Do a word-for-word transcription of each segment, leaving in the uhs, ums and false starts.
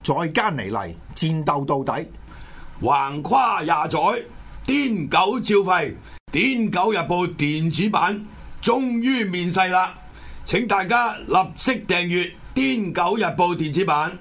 再加尼嚟，戰鬥到底， 橫跨廿載，癲狗照吠。癲狗日報電子版終於面世啦！請大家立即訂閱癲狗日報電子版。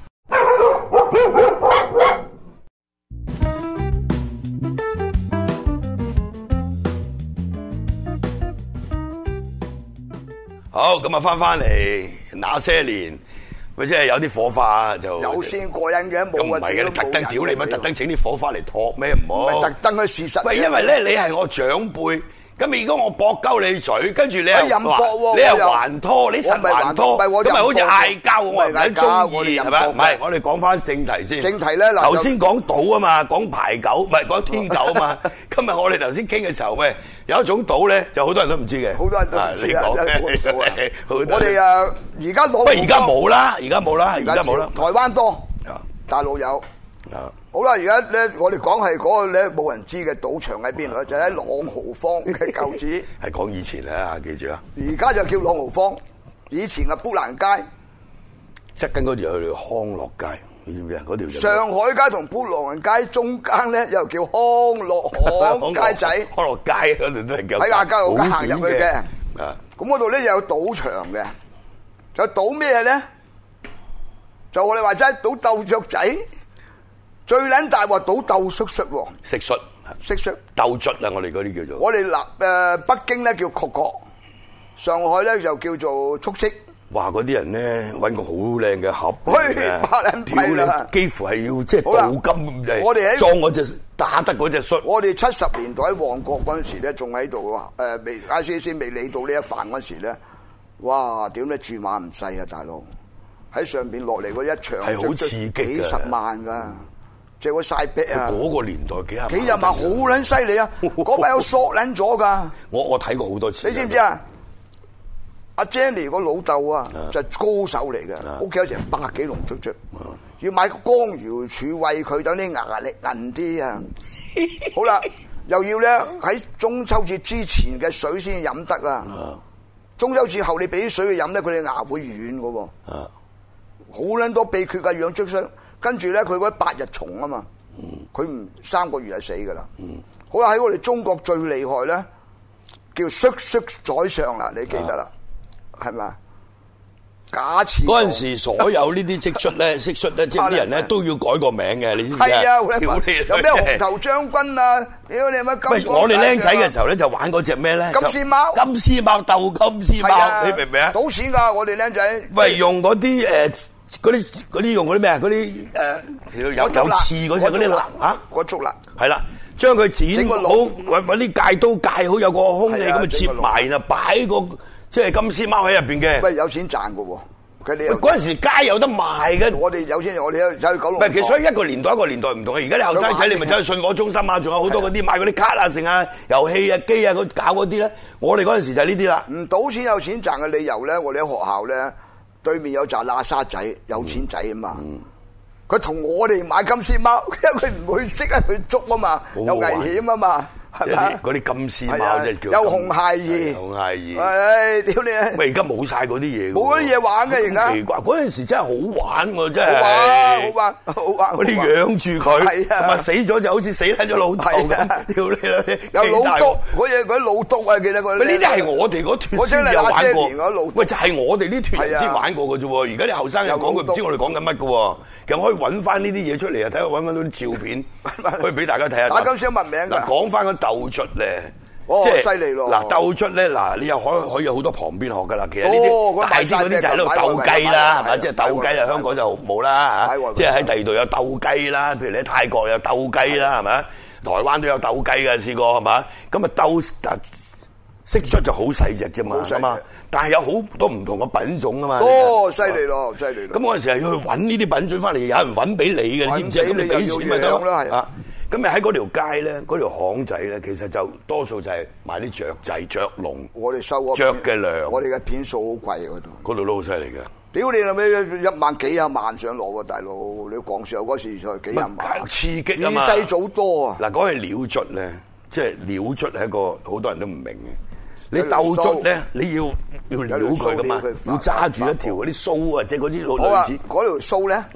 好，咁啊，翻翻嚟那些年。佢即係有啲火花就有先過癮嘅，冇啊！ 唔係嘅，你特登屌你乜？特登整啲火花嚟托咩？唔好。 唔係特登嘅事實。 喂，因為咧你係我長輩，咁如果我駁鳩你嘴，跟住你又話你又還拖，你實還拖，咁咪好似嗌交我唔係中意係咪？唔係，我哋講翻正題先。 正題咧，嗱， 頭先講賭啊嘛，講牌九，唔係講天九啊嘛。今日我哋頭先傾嘅時候，喂，有一種賭咧，就好多人都唔知嘅。 好多人都唔知啊！ 我哋啊，而家攞， 喂，而家冇啦，而家冇啦，而家冇啦。 台灣多，大陸有。好啦，而家咧，我哋講係嗰個咧冇人知嘅賭場喺邊度咧，就喺朗豪坊嘅舊址。係講以前啦，記住啊！ 而家就叫朗豪坊，以前嘅砵蘭街， 側跟嗰條去康樂街，你知唔知啊？嗰條上海街同砵蘭街中間咧，又叫康樂巷街仔。 康樂街嗰度都係叫。 喺亞皆老街行入去嘅。 啊！ 咁嗰度咧有賭場嘅，就賭咩咧？就我哋話齋賭鬥雀仔。最撚大話賭鬥蟋蟀喎， 蟋蟀， 蟋蟀鬥卒啊！我哋嗰啲叫做， 我哋嗱誒北京咧叫蟈蟈，上海咧就叫做速色。 哇！嗰啲人咧揾個好靚嘅盒， 百撚幣啦， 幾乎係要即係鍍金咁滯。 我哋喺裝嗰隻打得嗰隻蟀。 我哋七十年代喺旺角嗰陣時咧，仲喺度誒未 I C C 未理到呢一飯嗰陣時咧，哇！點咧注碼唔細啊，大佬喺上邊落嚟嗰一場係好刺激嘅， 幾十萬㗎。借個晒壁啊！ 嗰個年代幾廿萬， 幾廿萬好撚犀利啊！嗰班有索撚咗噶。 我我睇過好多次。 你知唔知啊？阿 Jenny 個老豆啊，就係高手嚟嘅，屋企有成百幾籠雀雀，要買個光瑤柱餵佢，等啲牙力韌啲啊！好啦，又要咧喺中秋節之前嘅水先飲得啊！中秋節後你俾啲水佢飲咧，佢哋牙會軟嘅喎。好撚多秘訣㗎，養雀雀。跟住咧，佢嗰啲八日蟲啊嘛，佢唔三個月就死噶啦。好啦，喺我哋中國最厲害咧，叫蟋蟀宰相啦，你記得啦，係咪啊？假設嗰陣時，所有呢啲蟋蟀咧、蟋蟀咧，即係啲人咧都要改個名嘅，你知唔知啊？ 係啊，有咩紅頭將軍啊？屌你乜金？ 喂，我哋僆仔嘅時候咧，就玩嗰隻咩咧？ 金絲貓， 金絲貓鬥金絲貓，你明唔明啊？ 賭錢㗎，我哋僆仔。 喂，用嗰啲誒。嗰啲嗰啲用嗰啲咩啊？嗰啲誒有有刺嗰隻嗰啲蠟嚇， 嗰竹蠟係啦，將佢剪好，揾揾啲戒刀戒好，有個空氣咁啊，接埋然後擺個即係金絲貓喺入邊嘅。 喂，有錢賺嘅喎！佢哋嗰陣時街有得賣嘅。 我哋有錢，我哋走去九龍。 唔係，其實所以一個年代一個年代唔同嘅。而家啲後生仔你咪走去信和中心啊，仲有好多嗰啲買嗰啲卡啊、成啊、遊戲啊、機啊，嗰搞嗰啲咧。我哋嗰陣時就係呢啲啦。 唔賭錢有錢賺嘅理由咧，我哋喺學校咧。對面有紮喇沙仔，有錢仔啊嘛！佢同我哋買金絲貓，因為佢唔會識得去捉啊嘛，有危險啊嘛，係咪？ 嗰啲金絲貓即係叫有紅孩兒， 紅孩兒。 唉，屌你！ 喂，而家冇晒嗰啲嘢， 冇嗰啲嘢玩嘅而家。 奇怪，嗰陣時真係好玩喎，真係。 好玩，好玩，好玩。 嗰啲養住佢，係啊，死咗就好似死喺咗老豆咁。屌你啦！ 有老督，嗰嘢嗰啲老督啊，記得嗰啲。 喂，呢啲係我哋嗰團先有玩過。喂，就係我哋呢團人先玩過嘅啫喎。而家啲後生又講佢唔知我哋講緊乜嘅喎。其實可以揾翻呢啲嘢出嚟啊！睇下揾翻到啲照片，可以俾大家睇下。 打金絲聞名㗎。 嗱，講翻個鬥卒咧， 哦， 即係犀利咯！ 嗱，鬥卒咧，嗱，你又可以可以有好多旁邊學㗎啦。其實呢啲大啲嗰啲就喺度鬥雞啦，係咪？即係鬥雞啊！香港就冇啦嚇，即係喺第二度有鬥雞啦。譬如你喺泰國有鬥雞啦，係咪？台灣都有鬥雞嘅，試過係嘛？咁啊鬥蟋蟀就好細隻啫嘛，係嘛？但係有好多唔同嘅品種啊嘛。 哦，犀利咯，犀利咯！ 咁嗰陣時係要去揾呢啲品種翻嚟，有人揾俾你嘅，你知唔知？咁你俾錢咪得咯。啊，咁你喺嗰條街咧，嗰條巷仔咧，其實就多數就係賣啲雀仔、雀籠。 我哋收雀嘅糧， 我哋嘅片數好貴嗰度。 嗰度都好犀利嘅。 屌你老味，一萬幾廿萬上落喎，大佬！你講笑嗰時就幾廿萬。 刺激啊嘛！ 二世祖多啊！ 嗱，講起鳥卒咧，即係鳥卒係一個好多人都唔明嘅。你鬥卒咧，你要要撩佢噶嘛，要揸住一條嗰啲鬚啊，即係嗰啲類似。 嗰條鬚咧，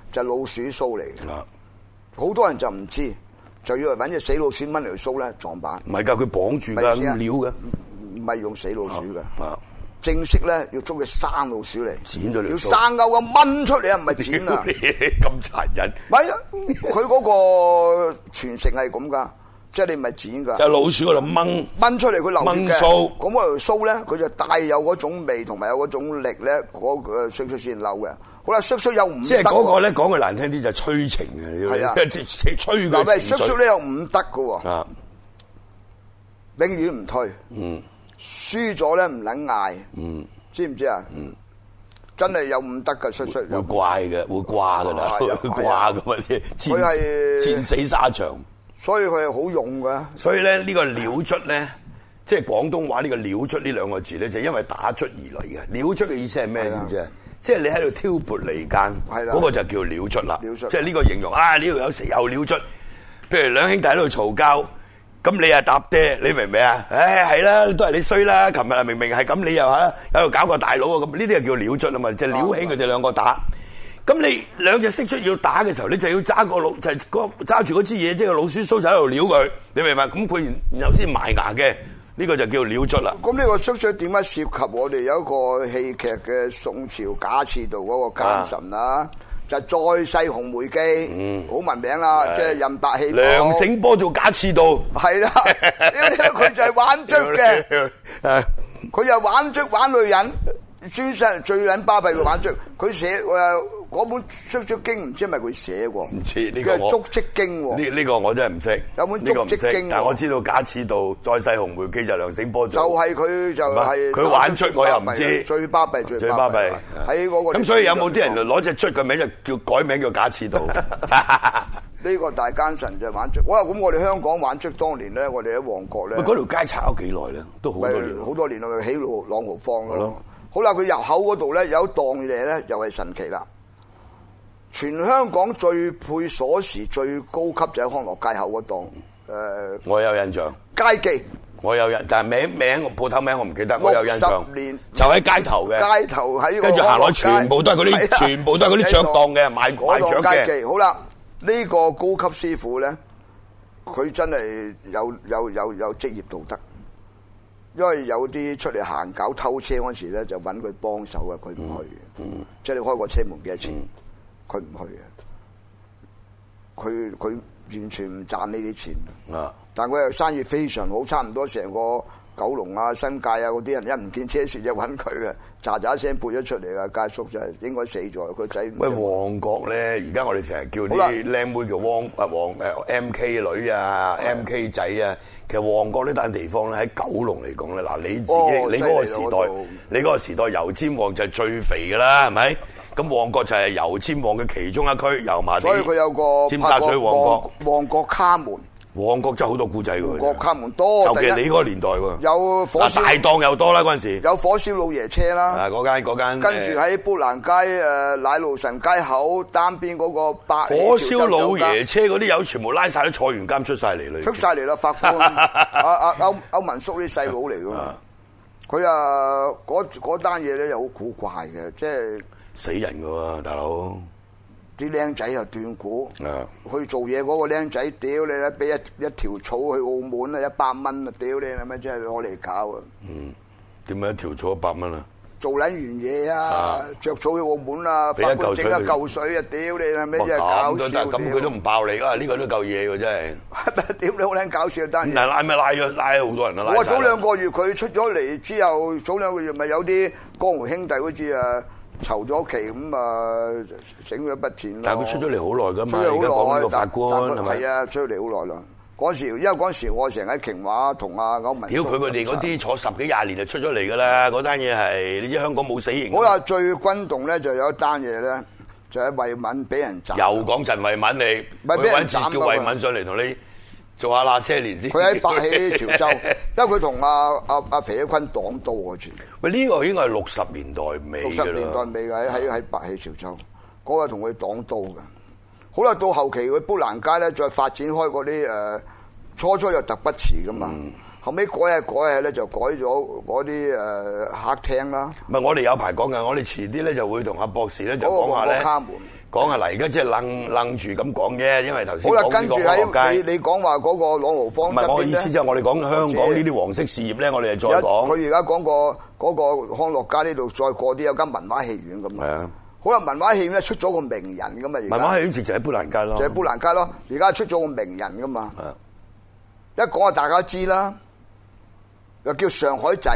就係老鼠鬚嚟嘅。好多人就唔知，就以為揾隻死老鼠掹條鬚咧撞板。 唔係㗎，佢綁住㗎，咁料嘅， 唔係用死老鼠㗎。 啊正式咧要捉隻生老鼠嚟， 剪咗條鬚， 要生勾咁掹出嚟啊，唔係剪啊！ 咁殘忍。 唔係啊，佢嗰個傳承係咁㗎，即係你唔係剪㗎。 就係老鼠嗰度掹掹出嚟，佢流掹鬚。 咁嗰條鬚咧，佢就帶有嗰種味同埋有嗰種力咧，嗰個須須先漏嘅。好啦，須須有五德。 即係嗰個咧講句難聽啲就係催情嘅， 係啊， 催佢。 嗱，喂，須須咧有五德㗎喎。 啊， 永遠唔退。嗯。輸咗咧唔撚嗌。嗯。知唔知啊？嗯。真係有五德嘅須須。 會怪嘅，會掛㗎啦，會掛㗎嘛啲。 佢係戰死沙場。 所以佢係好勇㗎。 所以咧呢個鳥卒咧，即係廣東話呢個鳥卒呢兩個字咧，就因為打卒而嚟嘅。鳥卒嘅意思係咩？知唔知啊？即係你喺度挑撥離間，嗰個就叫鳥卒啦。即係呢個形容啊！呢度有時有鳥卒，譬如兩兄弟喺度嘈交，咁你又搭爹，你明唔明啊？唉，係啦，都係你衰啦！琴日啊明明係咁，你又喺喺度搞個大佬啊！咁呢啲就叫鳥卒啊嘛，就撩起佢哋兩個打。咁你兩隻蟋蟀要打嘅時候，你就要揸個老就係揸住嗰支嘢，即係老鼠鬚就喺度撩佢，你明唔明？咁佢然後先埋牙嘅。呢個就叫鳥卒啦。咁呢個蟋蟀點解涉及我哋有一個戲劇嘅宋朝賈似道嗰個奸臣啊？就係再世紅梅記，嗯，好聞名啦，即係任白戲。 梁醒波做賈似道，係啦， 佢就係玩卒嘅，佢就玩卒玩女人，專身最撚巴閉嘅玩卒。佢寫誒。嗰本《蟋蟀經》唔知係咪佢寫喎？ 唔知呢個我足跡經喎。 呢呢個我真係唔識。 有本足跡經， 但係我知道賈似道再世紅梅記就梁醒波做。 就係佢就係佢玩卒，我又唔知。 最巴閉最最巴閉喺嗰個。 咁所以有冇啲人攞隻卒嘅名就叫改名叫賈似道？ 呢個大奸臣就玩卒。哇！咁我哋香港玩卒當年咧，我哋喺旺角咧。 嗰條街炒咗幾耐咧？都好多年。 好多年啦，起路朗豪坊咯。好啦，佢入口嗰度咧有一檔嘢咧，又係神奇啦。全香港最配鎖匙最高級就喺康樂街口嗰檔，誒， 我有印象。 街記， 我有印，但係名名鋪頭名我唔記得，我有印象。 六十年就喺街頭嘅， 街頭喺跟住行落全部都係嗰啲，全部都係嗰啲雀檔嘅，賣賣雀嘅。 街記好啦，呢個高級師傅咧，佢真係有有有有職業道德，因為有啲出嚟行搞偷車嗰時咧，就揾佢幫手啊，佢唔去嘅，即係你開個車門幾多錢？佢唔去嘅，佢佢完全唔賺呢啲錢。啊！但係佢又生意非常好，差唔多成個九龍啊、新界啊嗰啲人一唔見車時就揾佢嘅，喳喳聲撥咗出嚟嘅家叔就係應該死咗，個仔。喂， 旺角咧，而家我哋成日叫啲靚妹叫汪啊旺誒 M K 女啊、M K 仔啊，其實旺角呢笪地方咧喺九龍嚟講咧，嗱你自己、哦、你嗰個時代，你嗰個時代油尖旺就係最肥㗎啦，係咪？咁旺角就係油尖旺嘅其中一區，油麻地。 所以佢有個尖沙咀旺角。 旺角卡門。 旺角真係好多古仔喎。 旺角卡門多。 尤其你嗰個年代喎。 有火燒。 大檔又多啦嗰陣時。 有火燒老爺車啦。 啊，嗰間嗰間。 跟住喺砵蘭街誒奶路臣街口單邊嗰個百。 火燒老爺車嗰啲友全部拉晒都坐完監出晒嚟啦。 出晒嚟啦，法官。阿阿歐歐文叔啲細佬嚟㗎嘛。佢啊嗰嗰單嘢咧又好古怪嘅，即係。 死人㗎喎，大佬！ 啲僆仔又斷估， 啊、 去做嘢嗰個僆仔，屌你啦！俾一一條草去澳門啊，一百蚊啊，屌你係咪真係攞嚟搞啊？嗯， 點解一條草一百蚊啊？ 做撚完嘢啊，着草去澳門啊，法官整一嚿水啊，屌你係咪真係搞笑？ 咁佢都唔爆你啊！呢個都夠嘢喎，真係。 屌你好撚搞笑單嘢！ 但係拉咪拉咗拉咗好多人啊！ 我早兩個月佢出咗嚟之後，早兩個月咪有啲江湖兄弟好似啊。籌咗期咁啊，整咗一筆錢咯。但係佢出咗嚟好耐㗎嘛，而家講呢個法官係咪？係啊，出咗嚟好耐啦。嗰時因為嗰時我成日喺瓊華同阿歐文。屌佢佢哋嗰啲坐十幾廿年就出咗嚟㗎啦，嗰單嘢係你知香港冇死刑。我話最轟動咧就有一單嘢咧，就喺惠民俾人斬。又講陳惠民你，咪俾人斬叫惠民上嚟同你。做下那些年先。佢喺白起潮州，因為佢同阿阿阿肥一坤擋刀嗰次。喂，呢個應該係六十年代尾。六十年代尾喺喺喺白起潮州，嗰個同佢擋刀嘅。好啦，到後期佢砵蘭街咧，再發展開嗰啲誒，初初又特不遲噶嘛，嗯、後尾改下改下咧就改咗嗰啲誒客廳啦。唔係，我哋有排講嘅，我哋遲啲咧就會同阿博士咧就講下咧。 講下嚟，而家即係愣愣住咁講啫，因為頭先好啦， 講呢個跟住喺你你講話嗰個朗豪坊唔係我意思，就係我哋講香港呢啲黃色事業咧，我哋就再講。 佢而家講過嗰個康樂街呢度，再過啲有間文華戲院咁。 係啊， 好啦，文華戲院咧出咗個名人噶嘛，而家文華戲院直情喺砵蘭街咯， 就喺砵蘭街咯。而家出咗個名人噶嘛，一講啊大家知啦，又叫上海仔，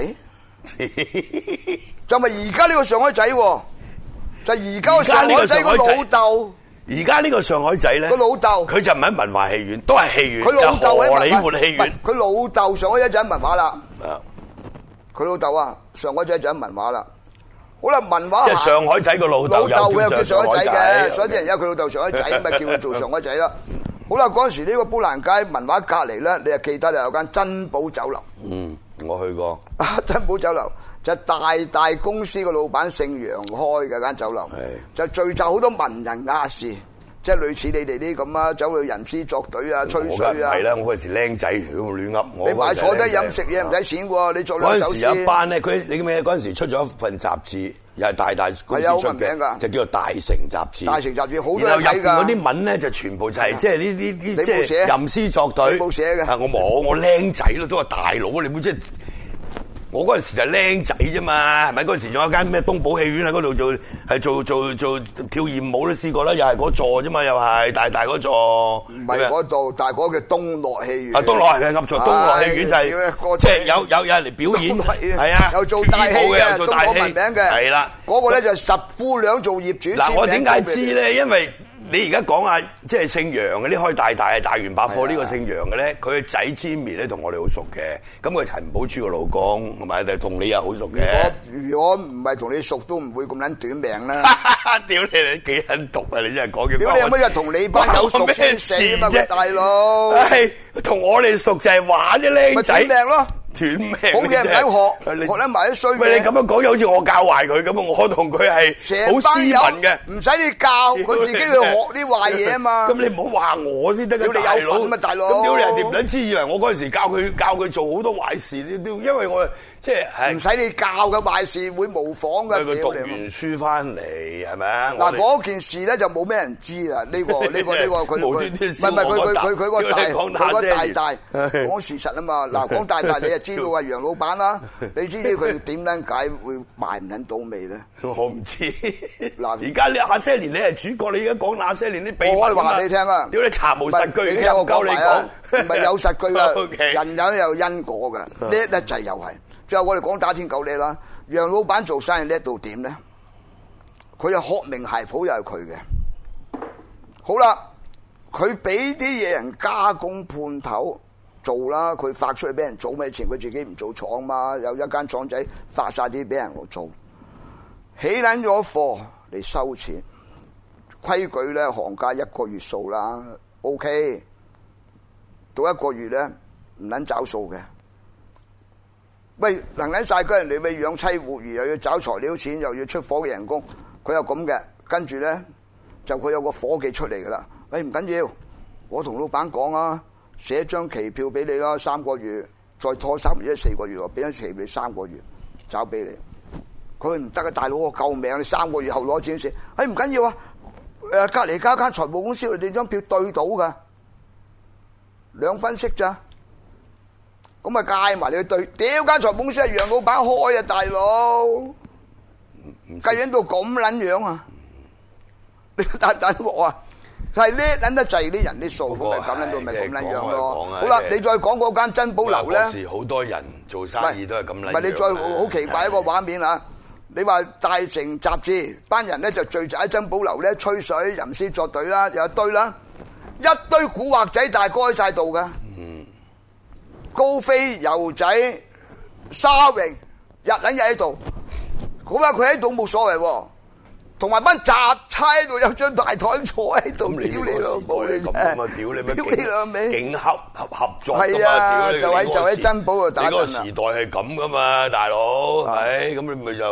就咪而家呢個上海仔，就而家個上海仔個老豆。 而家呢個上海仔咧， 個老豆佢就唔喺文華戲院，都係戲院， 佢老豆喺荷里活戲院。 佢老豆上海仔就喺文華啦。 啊， 佢老豆啊，上海仔就喺文華啦。好啦，文華即係上海仔個老豆， 老豆嘅叫上海仔嘅， 嘅， 所以啲人有佢老豆上海仔，咪叫佢做上海仔啦。好啦，嗰陣時呢個砵蘭街文華隔離咧，你就記得有間珍寶酒樓。 嗯，我去過。 啊，珍寶酒樓就大大公司個老闆姓楊開嘅間酒樓，就聚集好多文人雅士，即係類似你哋啲咁啊，走去吟詩作對啊，吹水啊。 係啦，我嗰陣時僆仔，咁亂噏。 你買坐低飲食嘢唔使錢喎，你做兩首詩。 嗰陣時有一班咧，佢你記唔記得嗰陣時出咗一份雜誌，又係大大公司出嘅，就叫做《大成雜誌》。 大成雜誌好多人睇㗎。 然後入邊嗰啲文咧，就全部就係即係呢啲啲即係吟詩作對。 你冇寫嘅。 我冇，我僆仔咯，都話大佬，你冇即係。我嗰陣時就僆仔啫嘛，係咪？嗰陣時仲有間咩東寶戲院喺嗰度做，係做做做跳豔舞都試過啦，又係嗰座啫嘛，又係大大嗰座。 唔係嗰度，但係嗰個叫東樂戲院。 啊，東樂係嘅，噏錯，東樂戲院就係即係有有有人嚟表演，係啊， 有做大戲嘅， 做大戲聞名嘅， 係啦。 嗰個咧就十姑娘做業主。 嗱，我點解知咧？因為你而家講啊，即係姓楊嘅呢，開大大大元百貨呢個姓楊嘅咧，佢嘅仔 Jimmy 咧同我哋好熟嘅，咁佢陳寶珠個老公，同埋同你又好熟嘅。 如果唔係同你熟，都唔會咁撚短命啦。 屌你，你幾撚毒啊！你真係講嘅。 屌你有乜嘢同你班友熟先死啊嘛，大佬。 係同我哋熟就係玩啫，僆仔。 咪短命咯。斷命，好嘅唔使學，學得埋啲衰嘅。 喂，你咁樣講，又好似我教壞佢咁啊！我同佢係好斯文嘅， 唔使你教，佢自己去學啲壞嘢啊嘛。 咁你唔好話我先得㗎， 大佬。咁啊，大佬。 咁屌你人哋唔撚知，以為我嗰陣時教佢教佢做好多壞事，因為我即係唔使你教嘅壞事會模仿嘅。 佢讀完書翻嚟係咪啊？ 嗱，嗰件事咧就冇咩人知啦。呢個呢個呢個佢佢唔係唔係佢佢佢佢個大佢個大大講事實啊嘛。嗱，講大大你就知道啊，楊老闆啦，你知唔知佢點撚解會賣唔撚到味咧？ 我唔知。嗱，而家你那些年你係主角，你而家講那些年啲秘密， 我可以話你聽啊！ 屌你查無實據， 你聽我講你講，唔係有實據啊！人有有因果嘅，叻得滯又係。最後我哋講打天狗叻啦，楊老闆做生意叻到點咧？佢又學名鞋鋪又係佢嘅。好啦，佢俾啲嘢人加工判頭做啦，佢發出去俾人做咩錢？佢自己唔做廠嘛，有一間廠仔發晒啲俾人做，起撚咗貨嚟收錢。規矩咧，行家一個月數啦 ，OK。到一個月咧唔撚找數嘅。喂，能撚晒嗰人哋咪養妻活兒，又要找材料錢，又要出伙嘅人工，佢又咁嘅。跟住咧就佢有個伙計出嚟噶啦。喂，唔緊要，我同老闆講啊，寫張期票俾你啦，三個月，再拖三月，四個月，俾張期俾你三個月，找俾你。佢唔得啊，大佬我救命，你三個月後攞錢先。哎，唔緊要啊，誒隔離間間財務公司，你張票對到噶，兩分息咋？咁啊，介埋你去對，屌間財務公司係楊老闆開啊，大佬，計緊到咁撚樣啊！你等等我啊，係叻撚得滯啲人啲數，咁咪咁撚到咪咁撚樣咯。好啦，你再講嗰間珍寶樓咧， 嗰時好多人做生意都係咁撚樣。 唔係你再好奇怪一個畫面啊！你話大成雜誌班人咧就聚集喺珍寶樓咧吹水、吟詩作對啦，有一堆啦，一堆古惑仔大哥喺晒度噶。高飛、油仔、沙榮日撚日喺度，咁啊佢喺度冇所謂喎，同埋班雜差喺度有張大台坐喺度，屌你老母你啫！ 屌你咩？ 屌你老味！ 勁合合合作係啊，就喺就喺珍寶度打陣啊！你嗰個時代係咁噶嘛，大佬係咁你咪就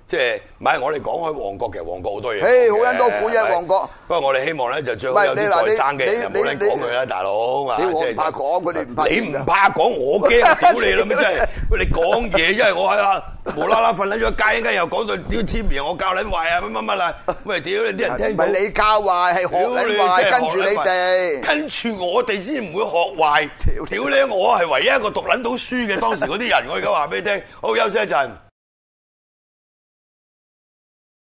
即係唔係我哋講開旺角，其實旺角好多嘢。 誒，好撚多古啫，旺角。 不過我哋希望咧就最好有啲在生嘅人就冇撚講佢啦，大佬。 屌我唔怕講，佢哋唔怕。 你唔怕講，我驚屌你啦咩？真係，喂你講嘢，因為我喺啊無啦啦瞓喺咗街，一間又講到屌簽名，我教撚壞啊乜乜乜啦。喂屌你啲人聽到。唔係你教壞，係學撚壞，跟住你哋。跟住我哋先唔會學壞。屌你，我係唯一一個讀撚到書嘅當時嗰啲人，我而家話俾你聽。好，休息一陣。